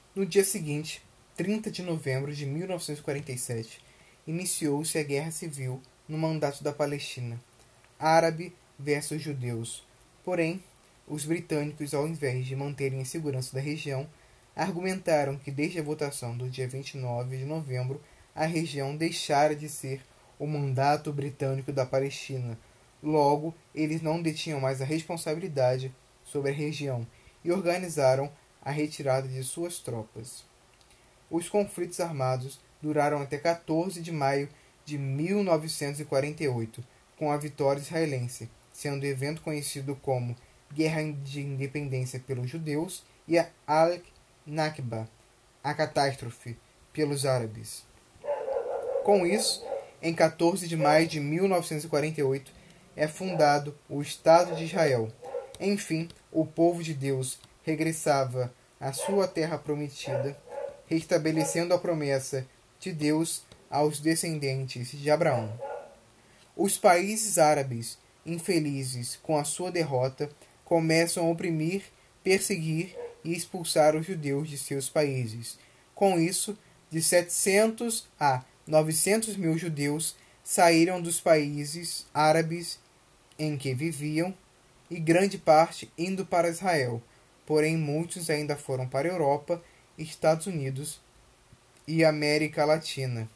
No dia seguinte, 30 de novembro de 1947, iniciou-se a Guerra Civil no mandato da Palestina, árabe versus judeus. Porém, os britânicos, ao invés de manterem a segurança da região, argumentaram que desde a votação do dia 29 de novembro, a região deixara de ser o mandato britânico da Palestina. Logo, eles não detinham mais a responsabilidade sobre a região e organizaram a retirada de suas tropas. Os conflitos armados duraram até 14 de maio de 1948, com a vitória israelense, sendo o evento conhecido como Guerra de Independência pelos judeus e a Al-Nakba, a catástrofe, pelos árabes. Com isso, em 14 de maio de 1948, é fundado o Estado de Israel. Enfim, o povo de Deus regressava à sua terra prometida, restabelecendo a promessa de Deus aos descendentes de Abraão. Os países árabes, infelizes com a sua derrota, começam a oprimir, perseguir e expulsar os judeus de seus países. Com isso, de 700 a 900 mil judeus saíram dos países árabes em que viviam, e grande parte indo para Israel. Porém, muitos ainda foram para a Europa, Estados Unidos e América Latina.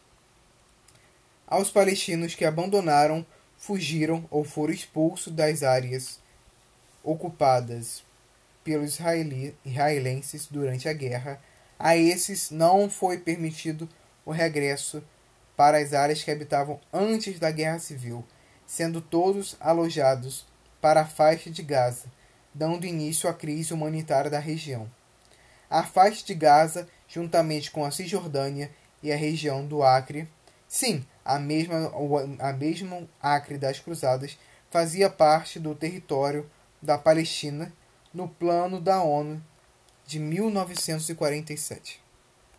Aos palestinos que abandonaram, fugiram ou foram expulsos das áreas ocupadas pelos israelenses durante a guerra, a esses não foi permitido o regresso para as áreas que habitavam antes da Guerra Civil, sendo todos alojados para a faixa de Gaza, dando início à crise humanitária da região. A faixa de Gaza, juntamente com a Cisjordânia e a região do Acre, sim, a mesma Acre das Cruzadas, fazia parte do território da Palestina no plano da ONU de 1947.